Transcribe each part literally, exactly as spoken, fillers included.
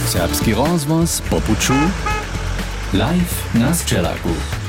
Serbski rozvoz po puču, live na Sčelaku.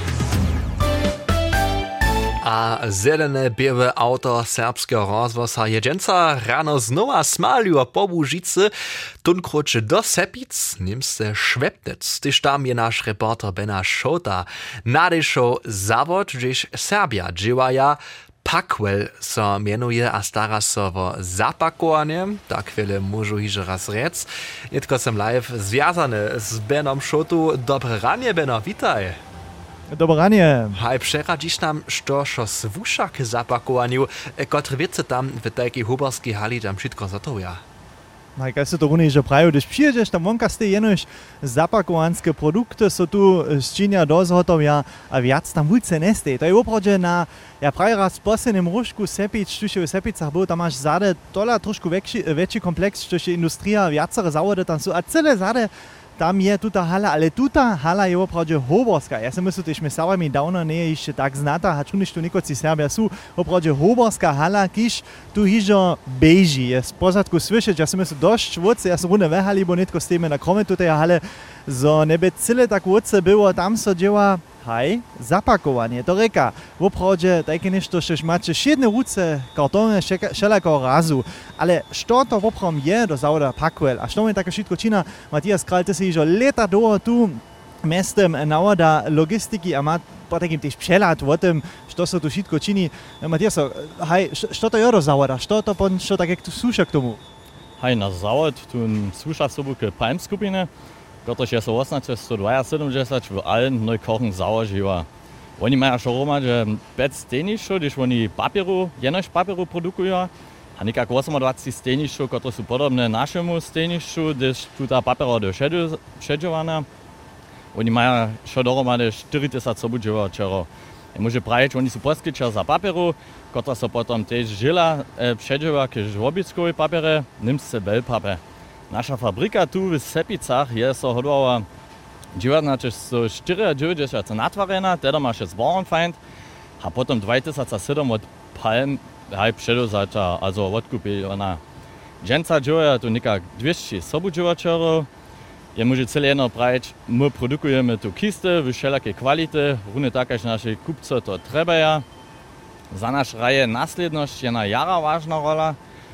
A zelene białe auto serbskiego rozwoza jedzenca rano znowa smaliło po Łužicy, tunkroče do Sepic, nimse Švepnec. Tyż tam je nasz reporter Bena Šota nadešel zawod, gdzieś Serbia dziewaja Pakwell so mienuje a stara so o zapakowanie, tak chwilę môžu hiže raz rec. Netko som live związany z Benom Šotu. Dobre ranie, Beno, witaj. Dobre ranie. Haj, przeradzisz nam, što šo svúša k zapakowaniu, kotre wiece tam w takiej huborskiej hali tam wszystko zatoja. No i kaj se to runie, že prajú, když přijedeš tam vonka ste jenož zapakovanské produkty, so tu ščinja dozhotovia a viac tam vůjce nestej. To je opravdu na, ja pravi raz posledným rušku Sepic, tuž je v Sepicach byl, tam máš zade tola trošku väčší, väčší komplex, tuž je industria, viacere zavody tam sú a celé zade tam je tuta hala, ale tuta hala je opravdu hoborská. Ja si myslím, že my Serbami dávno nie je ešte tak znata, a čuniš tu nikoci Serbia sú opravdu hoborská hala, kiž tu hižo beží. Je z pozadku slyšet, ja si myslím, dosť vodce, ja som rune vehali, bo netko stejme na krome tutej hale, zo nebe celé tak vodce było, tam so dzieła haj, zapakowanie, to reka. W opravdu takie nešto, že máte všetne ruce, kartony, všelakého razu, ale što to opravdu je do zavoda Pakwell, a što mi také všetko čina, Matthias Král, ty si jižo leta dlho tu mestem navoda logistiky a má po takým tiež přeľad o tom, što sa tu všetko činí. Matthias, haj, što to je do zavoda, što to pon, što tak jak tu súša k tomu? Haj, na zavod tu súša sobu k Palm skupine, protože je so osemnásť sedemdesiat v allen Neukochen Sauer živa. Oni majú šo roma, že päť stejnišov, když oni papieru, jenož papieru produkujú, a nekak dvadsaťosem stejnišov, ktoré sú podobné našemu stejnišu, když tu tá papiera do šedžovaná. Oni majú šo dohromady štyridsať sobu živa čero. Môže praviť, oni sú poskyčer za papieru, ktorá sa potom tiež žila šedžova k žvobickovej papiere, nimse veľpapier. Nasza fabryka tu w Sepicach je so hodowała dziewiętnaście dziewięćdziesiąt natwarena, teda ma się zwarenfeind, a potom dwa tysiące siedem od Palm haj przedozacza, also odkupi ona. Dżęca dzieła tu nikak dwieście sobu dziewaczerów. Je może cele jedno prawić, my produkujemy tu kisty w wszelakiej kwality, równie tak jak nasi kupcy to trebaja. Za nasz raje nasledność je na jara ważna rola.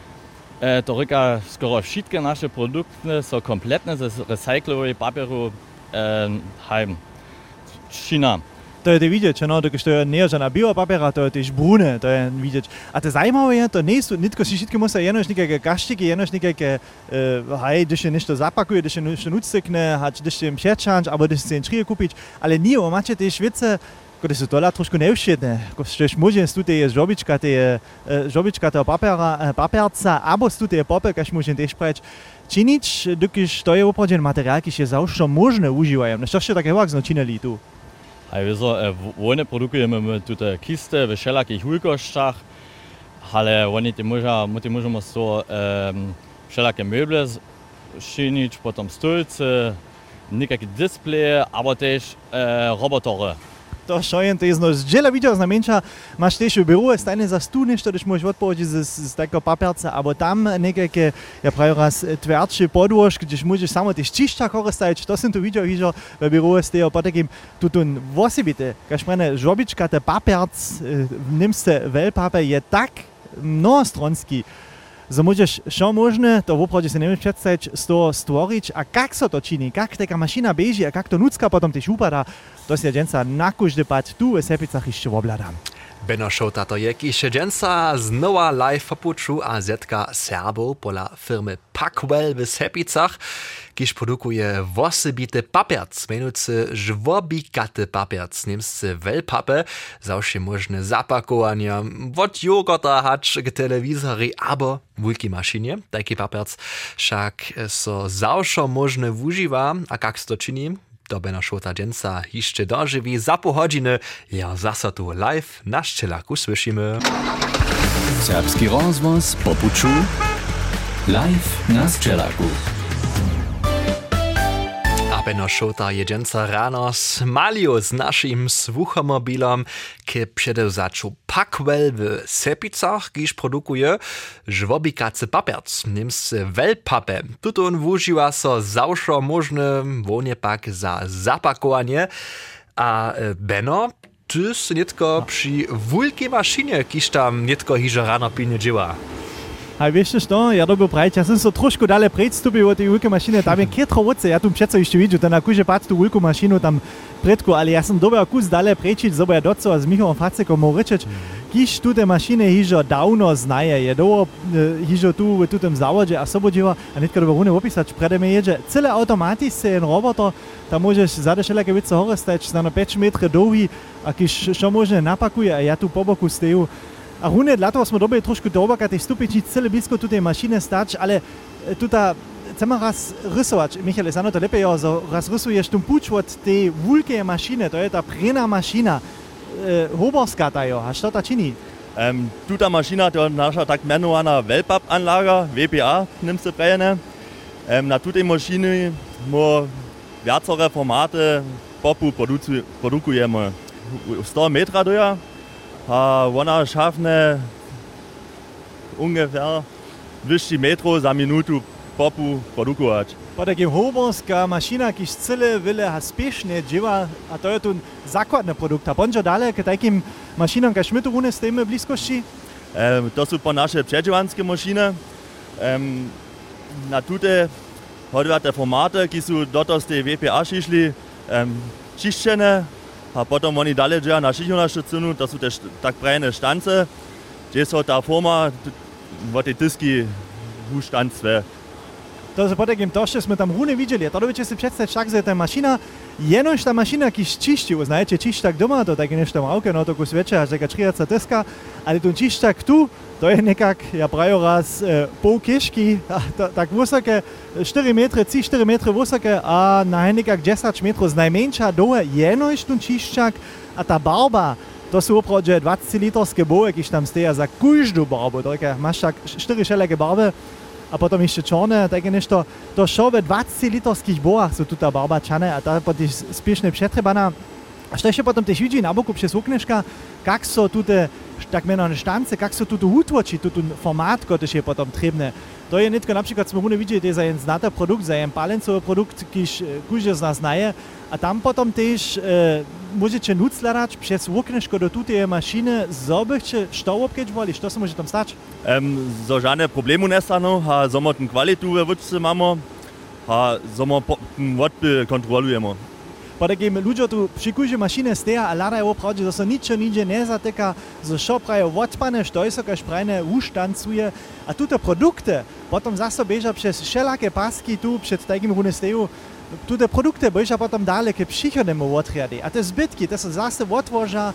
E, to reka skoro wszystkie nasze produkty są kompletne z recyklowej papieru e, heim. China. To je to vidieť, no, to je nie žena biopapiera, to je tiež brune, to je vidieť. A to zajímavé je, to nie sú, nitko si všetky musia jenož nejaké kaštiky, jenož nejaké, uh, hej, když je nešto zapakuje, když je nešto nucekne, když je im přečanč, alebo když si im šrie kúpiť, ale nie, máte tiež vece, ktoré sú tola trošku nevšetné. Ktož môže z tutej je žobička, tie žobička toho papiera, papierca, alebo z tutej je popel, kaž môžem tiež preč činiť, dokiž to je opravdu materiál, kiž je zawsze možné užívajem. No čo také vak činili tu? Hej, wieso, e, one produkujemy my tutaj kisty w wszelakich hulkoszczach, ale oni te może, my te możemy so e, wszelakie meble czynić, potem stolce, niekakие displeje, aber też e, robotory. To šojem, to je zno zdjela videl, znamenča, máš tiež v byrú, stajne za stú nešto, když môžeš odpovedať z, z, z takého papierca, alebo tam nejaké, ja pravi raz, tvrdšie podôžky, když môžeš samo tiež čišťa koristajať, to som tu videl, videl v byrú, z toho potakým tutun vosibite, kaž prene žobička, te papierc, nimste veľpapier je tak mnohostronský, že môžeš čo možné, to opravdu si nevieš predstaviť, z toho stvoriť a kak sa to činí, kak taká mašina beží a kak to nucka potom tiež upadá, to si dženca na každý pať tu v Sepicach ešte obľadám. Beno Šota to je, kiž dženca znova live popuču a zetka Serbov pola firmy Pakwell w Sepicach, kiž produkuje wosebite papierc, menujúce žvobikaty papierc, nimsce veľpape, zawsze možné zapakovania, od jogurta hač k telewizori, abo wulki maszynie. Taki papierc však so zawsze možné využíva, a kak to činí, do Bena Šota dženca ještě doživí za po hodiny. Ja zasa tu live na Sčelaku slyšíme. Serbski rozvoz po puču, live na Sčelaku. Beno Šota jedzenca rano smalił z naszym słuchomobilom, ki przedewzaczu Packwell w Sepicach, kiż produkuje żwobikacy papierc, niemscy Wellpappe. Tutun wużywa so zawsze możne wonie pak za zapakowanie, a Beno, ty si nitko przy wulkiej maszynie, kiż tam nitko hižo rano pilnie dzieła. A wiesz co, ja dobił prajć, ja sam so troszkę dalej predstupił o tej wielkiej maszynie, tam je kietro woce, ja tu przecież jeszcze widzę, to na kurze patrz tu wielką maszynę tam predku, ale ja sam dobił kus dalej prejčić, zobo ja doco z Michałem Facekom mógł ryczyć, kiż tu te maszyny hižo dawno znaje, je doło hižo tu w tym zawodzie, a sobo dzieła, a nitka dobił runy opisać, przede mnie jedzie, cyle automatycznie en roboter, tam możesz zadać wszelakie wiece hore stać, na pięć metrów długi, a kiż co może napakuje, a ja tu po boku steju. A runie dla toho smo dobili trošku dobaka tej stupičnic, cele blisko tu tej mašine stać, ale tuta chcemy raz rysować. Michał, jest to lepiej, że raz rysujesz tu puć od tej wulkiej maszyny, to jest ta prena maszyna, e, hoborska ta jo, a co ta czyni? Um, tuta mašina to nasza tak mianowana Wellpapp-Anlage, W P A, nimmst du prejene. Um, na tutej mašiny mo viacore formaty popu produkujemy. sto metra doja. A ona schafne ungefähr dwieście metrów za minutu popu produkować. Po takim hoborska maszyna, kiż cyle wiele spiesznie dzieła, a to jest tu zakładny produkt. A bądź dalej k takim maszynom, każ my tu runie stajemy bliskości? Um, to są po nasze przedziwanskie maszyny. Um, na tute hoduje te formaty, ki są dotąd z tej W P A šišli, um, čišćene. A potom oni dalej dzieją na szychunaszczycynu, to są też tak prajne sztance, gdzie są ta forma w tej tyski usztanctwie. To jest po takim toście, jsme tam runie widzieli, to dobycie si przedstawić tak, że ta maszyna, jenoż ta maszyna kiż čišti, uznajecie čištak doma, to takie nešto małke, no to kus wiecie, aż taka trzyjadca tyska, ale ten čištak tu, to jest nekak, ja prajo raz, e, pół kiszki, to, tak wysokie, cztery metry, trzy cztery metry wysokie, a na nekak dziesięć metrów z najmniejsza dołe, jenoż ten čištak, a ta barba, to są oprodzie dwadzieścilitrskie boły, kiż tam steja za każdą barbę, to masz tak cztery wszelakie barwy, a potom jeszcze czarne, takie nešto, to szło dwadzieścilitryskich bołach są tutaj barba czane, a ta potem spiesznie przetrebana. A co jeszcze potem też widzi na boku przez okneszka, jak są tutaj, tak mianowane sztance, jak są tutaj utworzy, tutaj format, który jest potem trebne. To jest nie tylko na przykład, sme widzieli, to jest ein znaty produkt, ein palencowy produkt, kiż każdy z nas znaje, a tam potem też e, możecie nucladać przez okneszko do tutaj maszyny, zobyście, co obkeć woli, co się może tam stać? Um, so żadne problemu nie staną, a zomo ten kwalitu we wódce mamy, a zomo ten wodby kontrolujemy. Po takim ludzie tu przy każdej maszynie steja a ladają oprawdzie, że się niczego nigdzie nie zatyka, że co prają odpane, co jest jakaś prajne usztancuje, a tu te produkty potem zase bieża przez wszelakie paski tu przed takim runie steju, tu te produkty bieża potem dalej k przychodnemu odriady, a te zbytki, to się zase odwoża,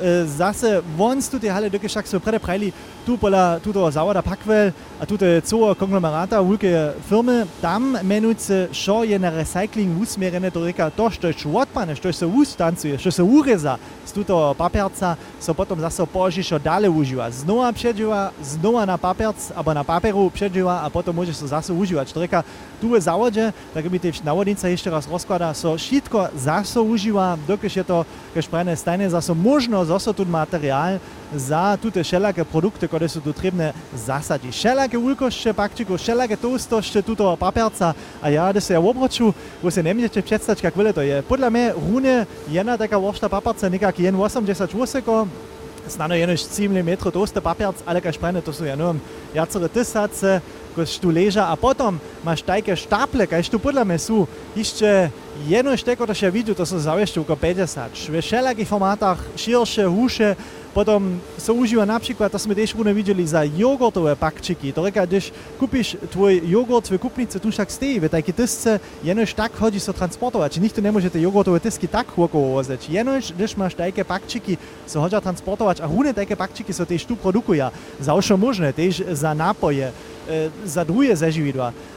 zase wons tutaj hale dokie však so prede prajli tu pola tuto zawoda Packwell a tute całe konglomerata wielkie firmy tam menujce šo je na recycling usmierene to reka to što je odpane, što se ustancuje, što se ureza z tuto papierca so potom zase požišo dalej uživa. Znova předživa, znova na papierc, abo na papieru předživa a potom môže so zase užívať. To reka tu v zavode, tak by tiež navodnica ešte raz rozklada, so všetko zase užíva, dokež je to kež prajne stajne zase možno zase tu materiál za tute všelaké produkty, ktoré sú tu trebné zasadiť. Všelaké veľkosti pakčikov, všelaké toustosti tuto papierca a ja, da se ja obroču, bo se nemôžete predstaviť, jak veľa to je. Podľa mňa runie jedna taká vršta papierca nekak jen osemdesiatosem, snano jenož tri milimetre toste papierc, ale kaž prajne, to sú jenom jacere tysace, kaž tu leža a potom máš tajke štaple, kaž tu podľa mňa sú ešte jenož teko, to še vidú, to sú zavešte oko päťdesiat. V všelakých formátach, širšie, húše, potom so užíva napríklad, to sme tiež rune videli za jogurtové pakčiky. To reka, když kúpiš tvoj jogurt v kupnici, tu však stejí, v tajke tysce, jenož tak chodí so transportovať. Nikto nemôžete jogurtové tysky tak chôkovo vozeť. Jenož, když máš tajke pakčiky, so hodia transportovať a rune tajke pakčiky so tiež tu produkujú. Za ošo možné, tiež za nápoje, e, za druhé zažividla.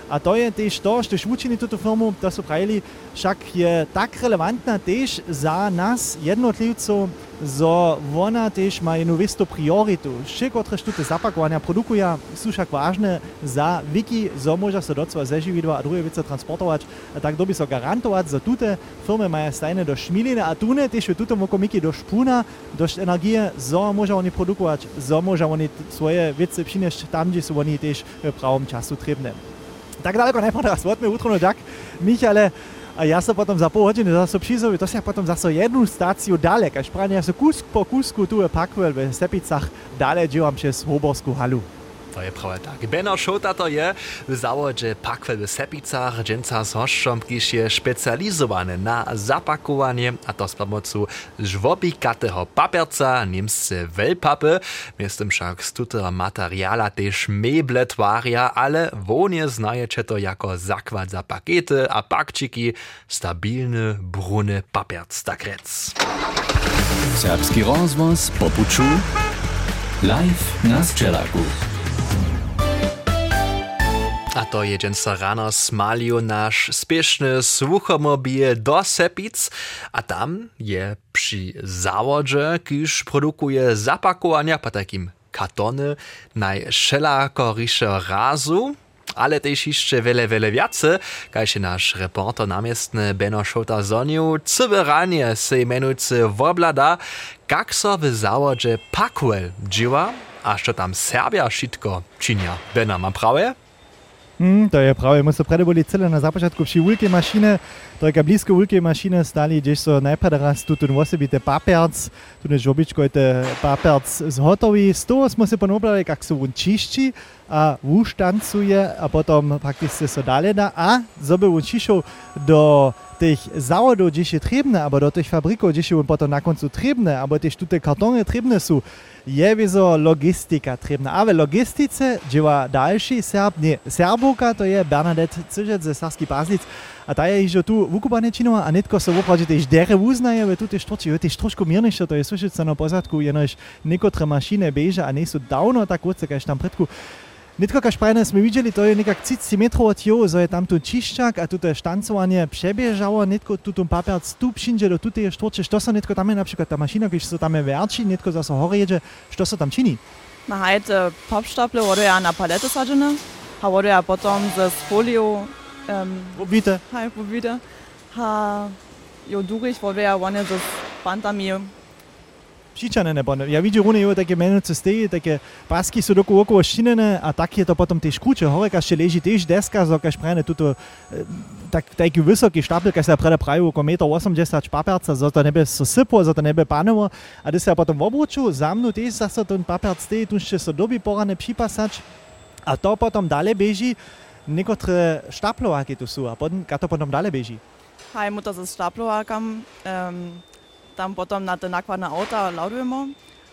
A to je też to, že učini túto firmu, to sú pravili, však je tak relevantná też za nás jednotlivcov, zo ona też ma jednu istú prioritu. Všetko, ktoré zapakovania produkujú, sú však vážne za wiki, zo môže sa docela zeživiť a druhé veci transportovať. A tak doby sa garantovať, za túte firmy majú stajne do šmiliny a tu ne, też v tútom okomiky do špúna, do energie, zo môže oni produkovať, zo môže oni svoje veci přinešť tam, kde sú oni też v pravom času trebné. Tak daleko najprv teraz vodme utro, no tak, Michale, a ja sa potom za pol hodiny zase přizovi, to sa potom zase jednu stáciu dalek, až práve ja sa kus po kusku tu je Packwell v Sepicach, dalej džívam přes Hoborskú halu. To je prawe tak. Benno Šota to je w zawodze Packwell w Sepicach, dżęca z hoszczom, kiż je specjalizowany na zapakowanie, a to z pomocą żwobikatego papierca, niemsce wellpapy, miestem však z tutego materiala też meble twaria, ale wonie znajecie to jako zakład za pakety a pakciki, stabilny, brunny papierc, tak rec. Serbski rozvoz popuču live na Sčelaku. A to je dżęca rano smalił nasz spieszny słuchomobil do Sepic, a tam je przy zawodze, kiż produkuje zapakowania po takim kartony najszelakorische razu, ale też jeszcze wiele, wiele więcej, kaj się nasz reporter namiestny Benno Šota zonił, cyberanie se menujcy woblada, jak so w zawodze Packwell dzieła, a co tam Serbia wszystko czynia. Benno, mam prawie? Hmm, to je prawie, my so prede boli cele na započatku przy wielkiej maszyny, to je blisko wielkiej maszyny stali, gdzieś so najpierw raz tu ten osobity papierc, tu ne žobičko te papierc zhotowi, z toho smo se ponobrali, jak so on čišči a uštancuje a potom prakticky so dalej da, a zoby on čišol do tych zawodów, gdzie się trebne, albo do tych fabryków, gdzie się on potom na końcu trebne, albo też tutaj kartony trebne są, je wieso logistika trebna. A w logistice dzieła dalszy Serb, nie, Serbuka, to je Bernadette Cyrzec ze Sarski Paslic, a ta je już tu wukubane činova, a netko se woprawdzie też dere uznaje, w tutaj sztorci, je też troszkę mierniejsze, to je słyszeć na pozadku, jenož niekotre maszyny beže, a nie są dawno tak wódce, kaž tam predku. Netko, kaž prajne sme videli, to je nekak tridsať metrov od jo, zo je tam tu čiščak a tuto štancovanie přebiežalo, netko tu papierc tu přinže do tutej štorče, što sa netko tam je napríklad tá mašina, keď sa tam je verčí, netko zase hore jedzie, što sa tam činí? Na hajte popštaple vodu ja na palete sadžene, a vodu ja potom ze foliu um, Obvite. Haj, obvite. Ha jo durich vodu ja one ze pantami. Přičane nebo ne. Ja vidím, že je také menujúce steji, také pasky sú doku okolo štinene a tak je to potom tiež kruče. Hore, kaž leží tiež deska, zo kaž prajne tuto tak, taký vysoký štapel, kaž sa prede prajú okolo jeden osemdesiat papierca, zo to nebe so sypo, zo to nebe panovo. A když sa potom obruču, za mnou tiež zase ten papierc steji, tu ešte sa doby porane připasať. A to potom dále beží niekotre štaplováky tu sú. A potom, ka to potom dále beží? Haj, mu to ze štaplovákam. Um, Tam potom na te nakładne auta ladujemy,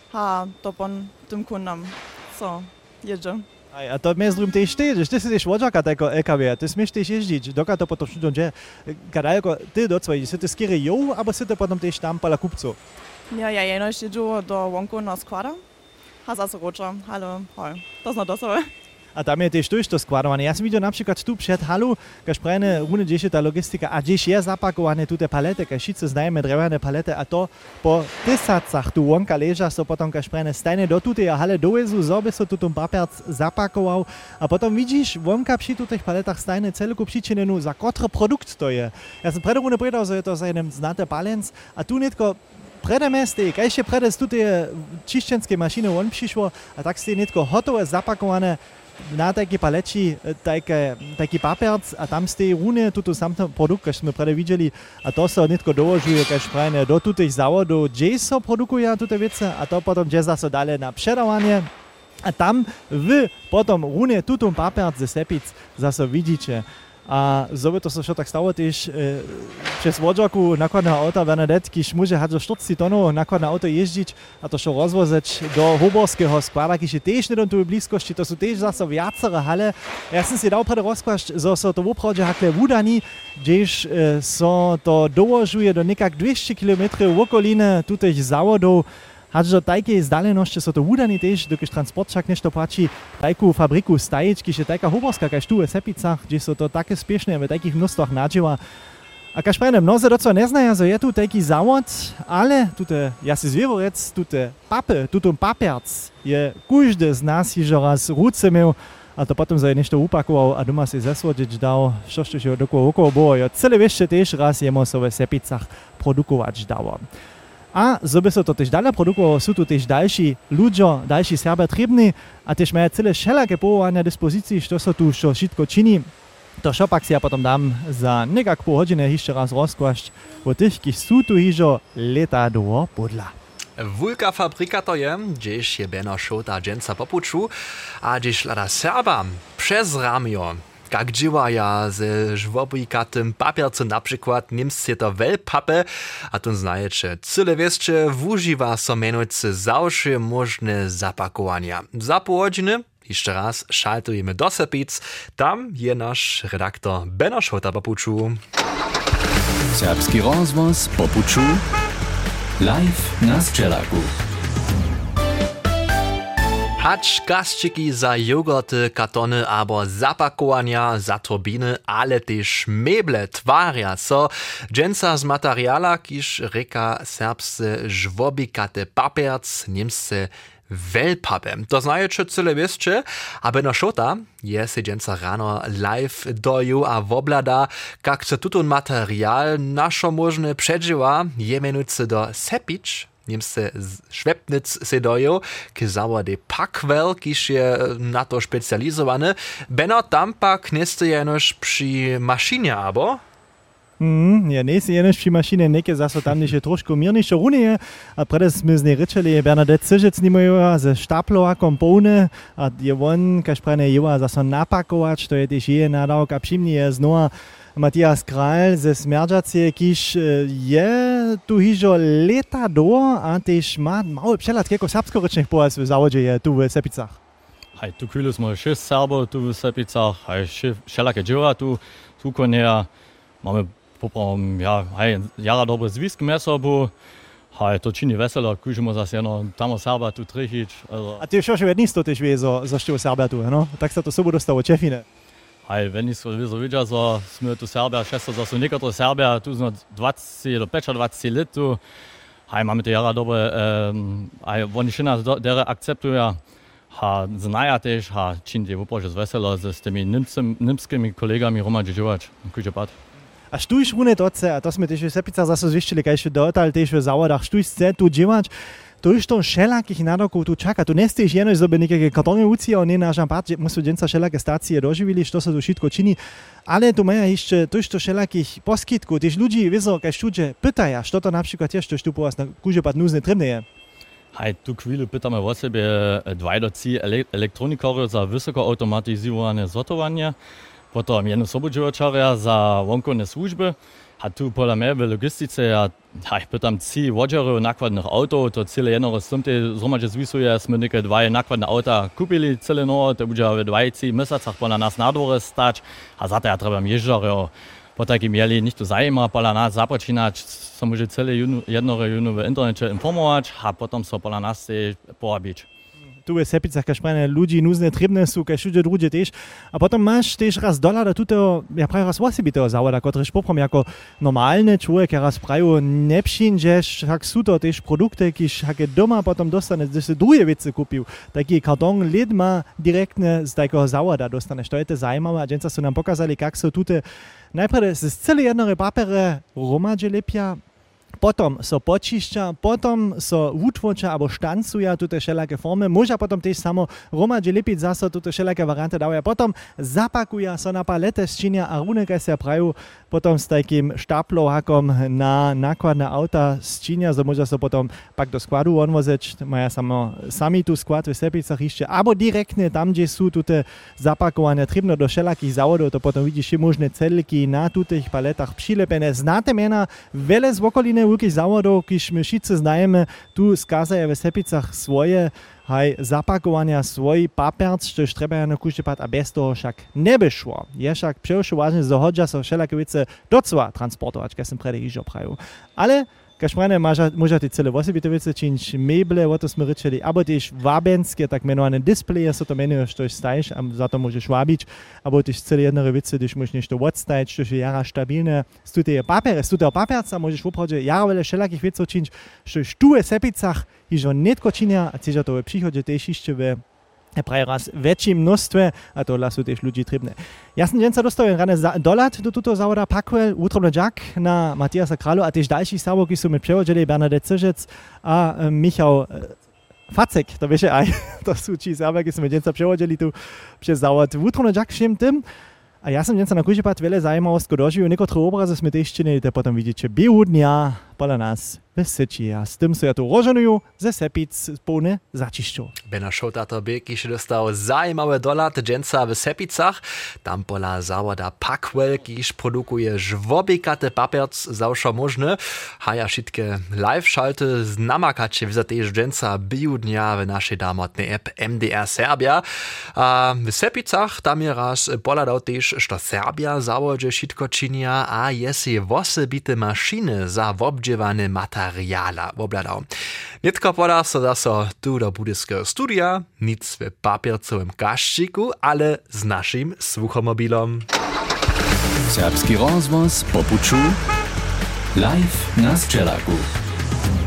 a to pon tym kundom so jedzie. A to między drugim też ty, że ty jesteś łodziaka tego L K W, ty smiesz też jeździć, doka to potom wszystko dzieje. Kadalko, ty do twojej, ty skiery ją, albo ty potom też tam pala kupców? Ja, ja jenoś jeżdżę do łąku na składa, a zase roczę, ale hoj, to zna dosowe. A tam je też to składowane. Ja som videl napríklad tu przed halu, kaž prajne rune, gdzieś ta logistika, a gdzieś je zapakowane tu te palety, kaž šice znajeme drewene palety, a to po tisacach tu łąka leža, so potom kaž prajne stajne do tutej hale dovezu, zobe so tu tom papierc zapakował, a potom vidíš, łąka przy tutych paletach stajne celku přičinenu, za kotry produkt to je. Ja som prede rune povedal, že je to za jeden znate balens, a tu netko prede meste, kaj še prede z tutej čišćenskej mašiny on přišlo, a tak ste netko hotové zapakowane na takiej paleci taki papierc, a tam z tej rune tuto samtný produkt, kaž sme prede videli, a to sa netko dołožuje, kaž prajne do tutých závodov, kde sa produkuje tute vece, a to potom kde zase dále na předávanie. A tam v potom rune tutom papierc ze Sepic zase vidíte. A zobe to sa šo tak stalo tiež e, přes vodžaku nakladného auta Bernadette, kiž môže hať zo štyridsať tonov nakladné auto ježdiť a to šo rozvozať do Hoborského sklada, kiž je tiež nedom tu v blízkosti, to sú tiež zase viacere hale. Ja som si dal prede rozkvašť, zo so to opravde hakle v Udani, kdež e, so to dołožuje do nekak dvesto kilometrov v okolíne tutých závodov. Hač do tajkej zdalenosti so to udani tež, dokiž transport však nešto pači tajku fabriku stajič, kiž je tajka hoborska, kaž tu v Sepicach, kde so to také spiešne v takých množstvách nadživa. A kaž prejne, mnoze docela neznaja, že je tu taký závod, ale tute, ja si zvierorec, tute pape, tuto paperc je každý z nás již raz rúce měl a to potom za je nešto upakoval a doma si zesvodič dal, čo ešte dokolo okolo bolo. Jo, celé ešte tiež raz jemo so v Sepicach produkovať dalo. A zoby so to tiež dále produkovalo, sú tu tiež další ľudia, další Serbia trební a tiež majú celé všelaké povolania na dispozícii, čo sa tu čo všetko činí. To čo pak si ja potom dám za nekak pol hodiny ešte raz rozkvašť o tých, kých sú tu hižo leta do podla. Wulka fabrika to je, gdzieś je Beno Šota dżęca popuczu, a gdzieś lada Serba przez ramio. Jak dziwaja ze żwobikatym papiercem, na przykład niemscy to Wellpappe, a tu znajecie cyle wieszcze wużywa so menujcy zawsze możne zapakowania. Za pół godziny jeszcze raz szaltujemy do Sepic, tam je nasz redaktor Beno Šota popuczu. Serbski rozvoz popuczu live na Sčelaku. Hacz gazčiki za jogurty, kartony abo zapakowania, za turbiny, ale też meble twarja so dżęca z materiala, kiż reka serbsce żwobikate papierc, niemsce Wellpappe. To znajecie cyle wieszcze, a Beno Šota je se dżęca rano live doju a woblada, jak se tutun material naszo możne przedziwa, je menujcy do Sepic, niemsce Schwebnitz se dojo, ki zawa de Packwell, kiż je na to specjalizowany. Beno tam pak niste jenož przy maszynie, abo? Mm, ja, nie si jenož przy maszynie, neke zaso tam niže trošku mirnejšo runie, a predes sme z nej rečeli, Bernadette Cižec nimojo ze štaplovakom poune, a je on, kaž prene jeva zaso napakovač, to je tež je nadawk, a přimni je znova Matthias Král ze Smerdžacie, kiž je tu hižo leta do a tež má mały přehled, keko serbskorečných pojas v závodže je tu v Sepicach. Hej, tu chvíli sme šest Serbov tu v Sepicach, hej, všelaké dživa tu, tu konia, máme poprom, ja, hej, jara dobre zvisky mesobu, hej, to čini veselo, kužimo zase jedno, tam Serba tu trichič. Also. A ty už už jedný sto tež vie, zo, zo štiu Serbia tu, no? Tak sa to sobu dostalo Čefine. Hej, wenn ich so widzę, so sme tu Serbia, šesto, so sú niektoré Serbia, tu sme dvadsať do dvadsať let tu. Hej, máme to jara dobre, um, hej, oni še nás dere akceptujú. Ha, znaja tež, ha, čin je uprože z veselo, s tými nimskými kolegami Roma Džižovač, kuže pad. A štuj šrune toce, a to sme tež v Sepicach zase zvištili, kaj še dotal tež v závodach, štuj chce tu dživať, to už to všelakých nádokov tu čaká. Tu nesteješ jenož zobe nejaké kartony ucija, oni nášam pád, že musú dženca všelaké stácie doživili, što sa tu všetko činí, ale tu maja ešte to už to všelakých poskytkov, tež ľudí, vizo, kaj študže pytaja, što to napríklad tiež to štupu vás na kuže pad núzne trebne je. Hej, tu chvíli pytamy o sobie dwajdoci elektronikory za wysoko automatyzowane sortowanie, potom jedno sobodživočarja za vonkovne služby. A tu pola mňa v logistice, ja, ja pytam ci vodžerov nakladných autov, to celé jedno rozsumte zhromadže zvisuje, sme nejaké dva nakladné auta kúpili celé no, to bude v dvajci mesacach pola nás na dvore stať a za to ja trebam ježdžarov. Po takim mieli nič tu zajíma, pola nás započínať, sa môže celé jednore junu v internete informovať a potom sa pola nás porabiť. Tu v Sepicach, kaž prene ľudí núzne trebné sú, kaž všude drugie tež. A potom máš tež raz doľa do tutého, ja prajú raz osobitého závoda, ktorýž poprom jako normálny človek, ja raz prajú nepšinžeš, ak sú to tež produkty, kiž hake doma potom dostane, že si druhé veci kúpil. Taký karton lid má direktne z takého závoda dostaneš. To je to zajímavé a dženca sú nám pokazali, kak sú tute najprv z celé jednore papere romadže lepia, potom so počišťa, potom so utvoča alebo štancuja tute všelaké formy, môža potom tiež samo romadže lepiť zase tute všelaké varianty dávajú, potom zapakuja so na palete sčinia a runekaj sa prajú potom s takým štaplohakom na nakladné auta sčinia, so môža so potom pak do skladu odvozeť, maja samo sami tu sklad v Sepicach ešte, alebo direktne tam, kde sú tute zapakované trebno do všelakých závodov, to potom vidíš možné celky na tutých paletách přilepené. Znáte mena veľa z okoliny veľkých závodov, kiž my všetci znajeme, tu skazajú v Sepicach svoje haj zapakovania, svoj paperc, čo treba na kúšte pát a bez toho však nebešlo. Je však přeošu vážne zohodža so všelaké vece docela transportovať, keď som prede iž oprajú. Ale Kašprane môžete celé osobité veci činiť, meble, o to sme rečeli, alebo tiež vábenské, tak menované displeje, sa to menuje, što staješ, a za to môžeš vábiť, alebo tiež celé jedné veci, když môžeš niečo odstajiť, što je jara stabilné. Z tutého papier, z tutého papierca môžeš voprawdźe jara veľa všelakých vecov činiť, što je tu v sepicach, ižo netko činia, a tiež to v príchode tiež ešte v prawie raz väčším množstve, a to sú tiež ľudí trebné. Ja som dnes sa dostal rane doľať do tuto závoda Packwell, útrobný Jack na Matiasa Králu a tiež ďalší závodky sú mi prevodili Bernadette Cižec a e, Michał e, Facek, to vieš aj, to sú či závodky, sme dnes sa prevodili tu přes závod útrobný Jack všem tým. A ja som dnes na Kužipad veľa zaujímavostí dožil, niektoré obrazy sme tiež činili, to potom vidíte biehu dňa podľa nás v Syči. A s tým sa ja tu roženujú ze Sepic plne začišťou. Bena Šota to by, když dostal zajímavé dolat dženca v Sepicach, tam pola závoda Packwell, když produkuje žvobikate papierc zawsze možné. Haja všetké live-šalte znamakače vzatež dženca biju dňa v našej dámotnej app M D R Serbia. A v Sepicach tam je raz poladal tiež, što Serbia závodže všetko činia a je si osobité mašiny za obdževané materiála obladal. Netko podá sa zase tu do budyského studia, nic v papiercovém kaščiku, ale s našim sluchomobilom. Serbski rozvoz popuču live na Sčelaku.